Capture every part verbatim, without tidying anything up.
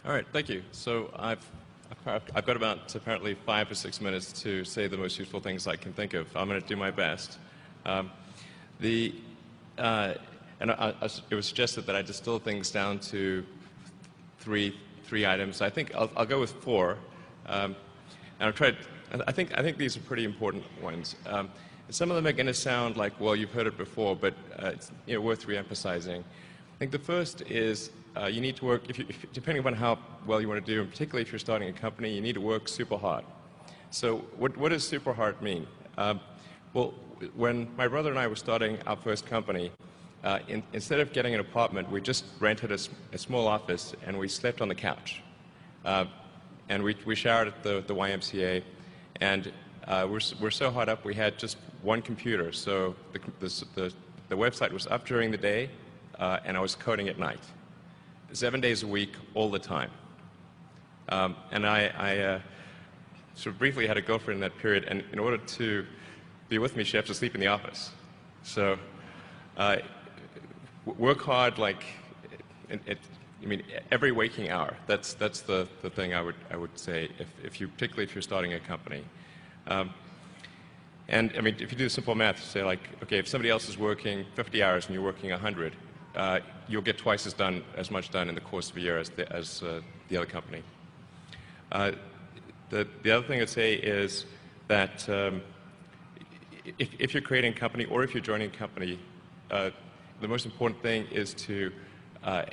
All right, thank you. So I've, I've got about apparently five or six minutes to say the most useful things I can think of. I'm going to do my best. Um, the, uh, and I, I, it was suggested that I distill things down to three, three items. I think I'll, I'll go with four. Um, and I've tried, I think, I think these are pretty important ones. Um, some of them are going to sound like, well, you've heard it before, but uh, it's you know, worth re-emphasizing. I think the first is uh, you need to work, if you, if, depending upon how well you want to do, and particularly if you're starting a company, you need to work super hard. So what, what does super hard mean? Um, well, when my brother and I were starting our first company, uh, in, instead of getting an apartment, we just rented a, a small office and we slept on the couch. Uh, and we, we showered at the, the Y M C A, and uh, we're, we're so hot up we had just one computer. So the, the, the, the website was up during the day, uh, and I was coding at night. Seven days a week, all the time. Um, and I, I uh, sort of briefly had a girlfriend in that period, and in order to be with me, she had to sleep in the office. So uh, work hard, like, it, it, I mean, every waking hour. That's, that's the, the thing I would, I would say, if, if you, particularly if you're starting a company. Um, and, I mean, if you do simple math, say, like, okay, if somebody else is working fifty hours and you're working one hundred, Uh, you'll get twice as done, as much done in the course of a year as the, as, uh, the other company. Uh, the, the other thing I'd say is that um, if, if you're creating a company or if you're joining a company, uh, the most important thing is to, uh,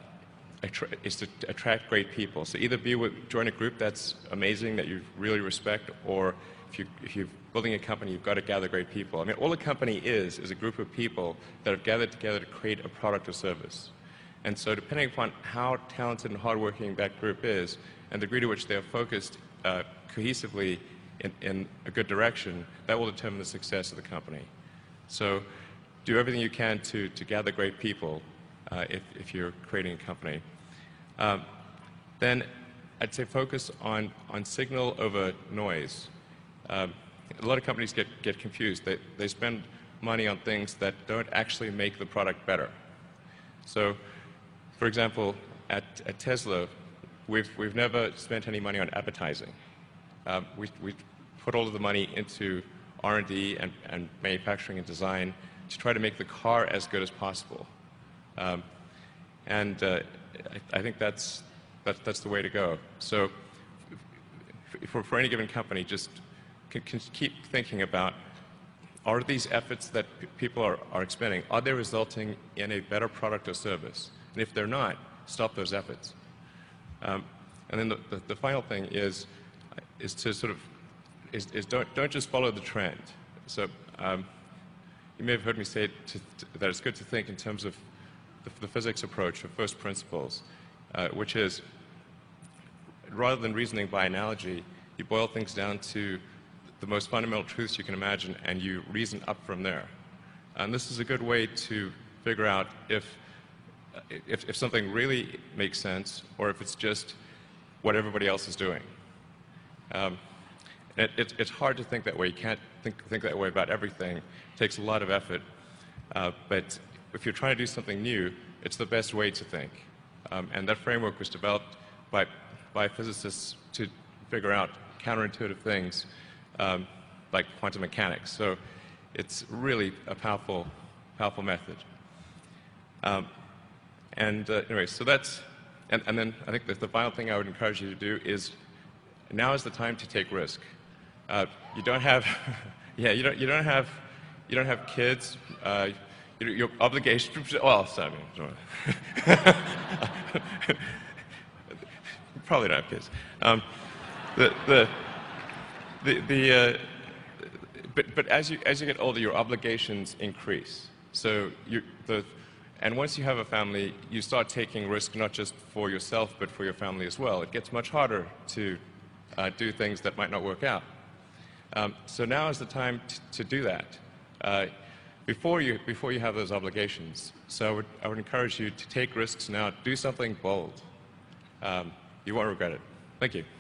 is to attract great people. So either be with, join a group that's amazing, that you really respect, or if, you, if you're building a company, you've got to gather great people. I mean, all a company is, is a group of people that have gathered together to create a product or service. And so depending upon how talented and hardworking that group is, and the degree to which they are focused uh, cohesively in, in a good direction, that will determine the success of the company. So do everything you can to, to gather great people uh, if, if you're creating a company. Um, then I'd say focus on, on signal over noise. Um, a lot of companies get, get confused. They, they spend money on things that don't actually make the product better. So, for example, at, at Tesla, we've, we've never spent any money on advertising. Um, we, we put all of the money into R and D and, and manufacturing and design to try to make the car as good as possible. Um, and uh, I, I think that's, that, that's the way to go. So for, for any given company, just Can, can keep thinking about, are these efforts that p people are, are expending, are they resulting in a better product or service? And if they're not, stop those efforts. Um, and then the, the, the final thing is, is to sort of, is, is don't, don't just follow the trend. So um, you may have heard me say to, to, that it's good to think in terms of the, the physics approach of first principles, uh, which is, rather than reasoning by analogy, you boil things down to the most fundamental truths you can imagine, and you reason up from there. And this is a good way to figure out if, if, if something really makes sense, or if it's just what everybody else is doing. Um, it, it, it's hard to think that way. You can't think, think that way about everything. It takes a lot of effort. Uh, but if you're trying to do something new, it's the best way to think. Um, and that framework was developed by, by physicists to figure out counterintuitive things, Um, like quantum mechanics. So it's really a powerful, powerful method. Um, and uh, anyway, so that's, and, and then I think that the final thing I would encourage you to do is, now is the time to take risk. Uh, you don't have, yeah, you don't, you don't have, you don't have kids. Uh, your, your obligation, well, sorry, probably don't have kids. Um, the, the, The, the, uh, but, but as you, as you get older, your obligations increase. So you, the, and once you have a family, you start taking risk not just for yourself, but for your family as well. It gets much harder to uh, do things that might not work out. Um, so now is the time to do that, uh, before you, before you have those obligations. So I would, I would encourage you to take risks now. Do something bold. Um, you won't regret it. Thank you.